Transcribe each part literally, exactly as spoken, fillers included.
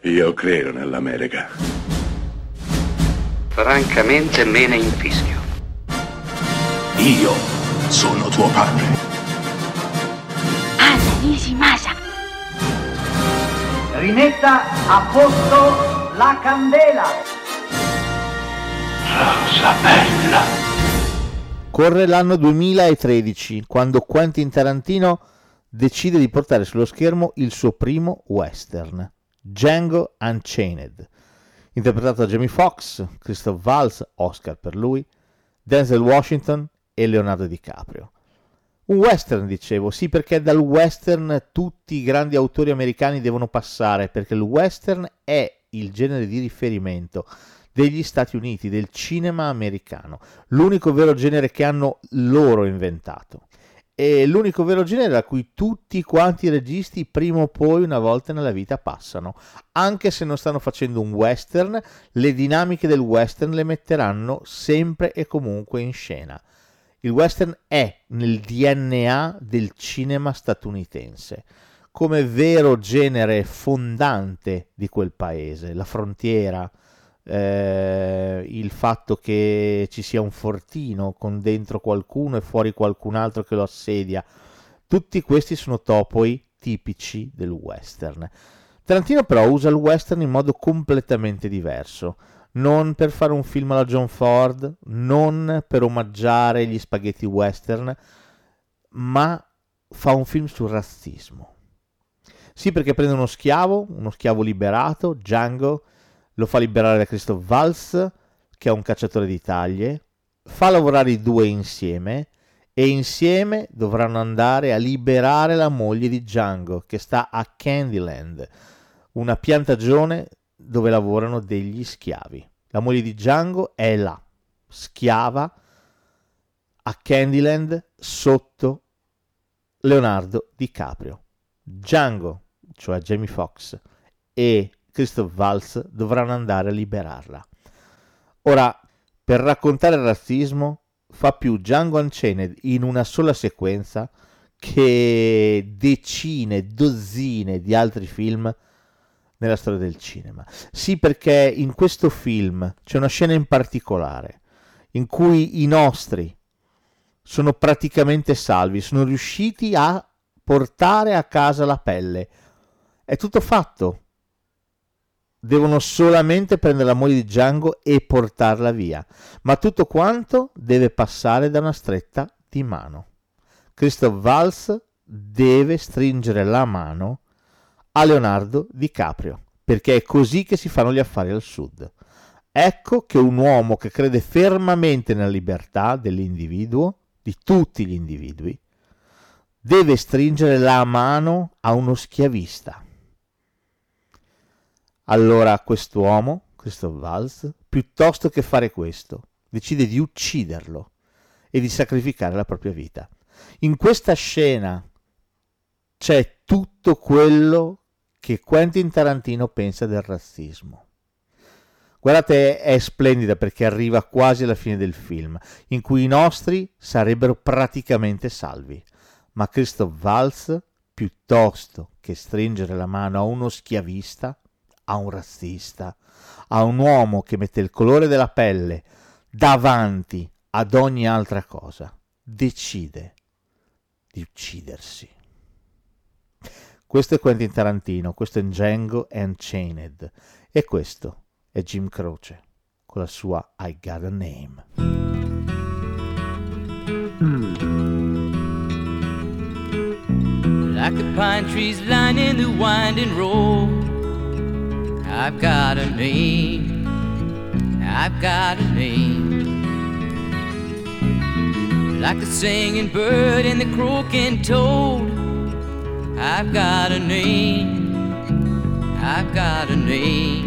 Io credo nell'America. Francamente me ne infischio. Io sono tuo padre. Anna Nishimasa. Rimetta a posto la candela. Rosa bella. Corre l'anno duemilatredici, quando Quentin Tarantino decide di portare sullo schermo il suo primo western, Django Unchained, interpretato da Jamie Foxx, Christoph Waltz, Oscar per lui, Denzel Washington e Leonardo DiCaprio. Un western, dicevo, sì, perché dal western tutti i grandi autori americani devono passare, perché il western è il genere di riferimento degli Stati Uniti, del cinema americano, l'unico vero genere che hanno loro inventato. E l'unico vero genere a cui tutti quanti i registi prima o poi una volta nella vita passano. Anche se non stanno facendo un western, le dinamiche del western le metteranno sempre e comunque in scena. Il western è nel D N A del cinema statunitense, come vero genere fondante di quel paese, la frontiera, Eh, il fatto che ci sia un fortino con dentro qualcuno e fuori qualcun altro che lo assedia, tutti questi sono topoi tipici del western. Tarantino però usa il western in modo completamente diverso, non per fare un film alla John Ford, non per omaggiare gli spaghetti western, ma fa un film sul razzismo. Sì, perché prende uno schiavo, uno schiavo liberato, Django, lo fa liberare da Christoph Waltz, che è un cacciatore di taglie, fa lavorare i due insieme e insieme dovranno andare a liberare la moglie di Django, che sta a Candyland, una piantagione dove lavorano degli schiavi. La moglie di Django è là, schiava, a Candyland, sotto Leonardo DiCaprio. Django, cioè Jamie Foxx, e Christoph Waltz dovranno andare a liberarla. Ora, per raccontare il razzismo, fa più Django Unchained in una sola sequenza che decine, dozzine di altri film nella storia del cinema. Sì, perché in questo film c'è una scena in particolare in cui i nostri sono praticamente salvi, sono riusciti a portare a casa la pelle. È tutto fatto. Devono solamente prendere la moglie di Django e portarla via, ma tutto quanto deve passare da una stretta di mano. Christoph Waltz deve stringere la mano a Leonardo DiCaprio, perché è così che si fanno gli affari al sud. Ecco che un uomo che crede fermamente nella libertà dell'individuo, di tutti gli individui, deve stringere la mano a uno schiavista. Allora quest'uomo, Christoph Waltz, piuttosto che fare questo, decide di ucciderlo e di sacrificare la propria vita. In questa scena c'è tutto quello che Quentin Tarantino pensa del razzismo. Guardate, è splendida perché arriva quasi alla fine del film, in cui i nostri sarebbero praticamente salvi, ma Christoph Waltz, piuttosto che stringere la mano a uno schiavista, a un razzista, a un uomo che mette il colore della pelle davanti ad ogni altra cosa, decide di uccidersi. Questo è Quentin Tarantino, questo è Django Unchained e questo è Jim Croce con la sua I Got a Name. Like the pine trees lining the winding road, I've got a name, I've got a name. Like the singing bird and the croaking toad, I've got a name, I've got a name.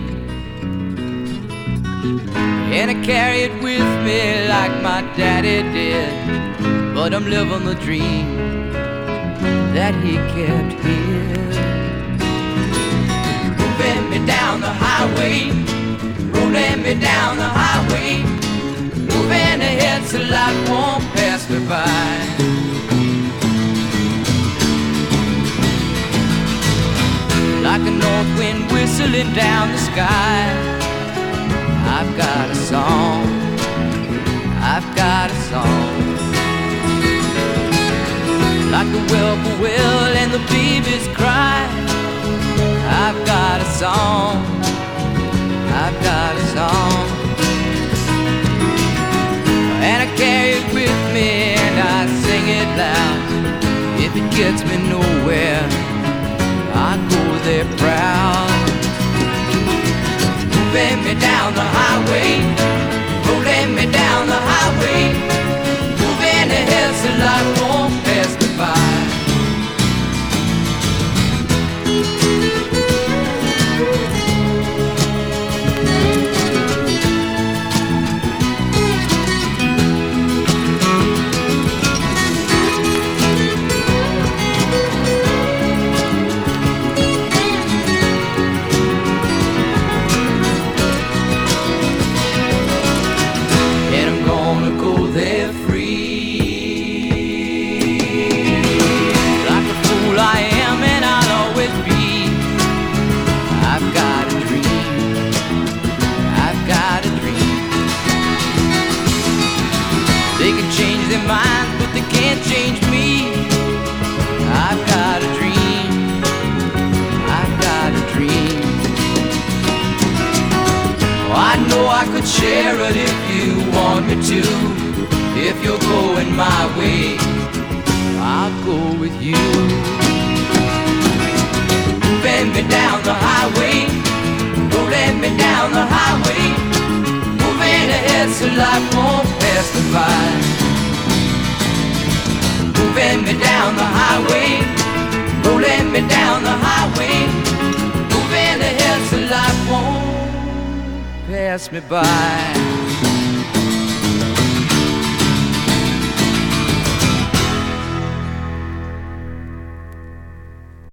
And I carry it with me like my daddy did, but I'm living the dream that he kept here. Moving me down the highway, rolling me down the highway, moving ahead so life won't pass me by. Like a north wind with whistling down the sky. I've got a song, I've got a song, like the whippoorwill and the babies cry. I've got a song, I've got a song, and I carry it with me and I sing it loud. If it gets me nowhere, I go there proud. Moving me down the highway, rolling me down the highway, moving ahead so life won't pass me by. Minds, but they can't change me. I've got a dream, I've got a dream. Oh, I know I could share it if you want me to. If you're going my way, I'll go with you. Bend me down the highway, rolling me down the highway, moving ahead so life won't pass me by. Moving me down the highway, rolling me down the highway, moving ahead so life won't pass me by.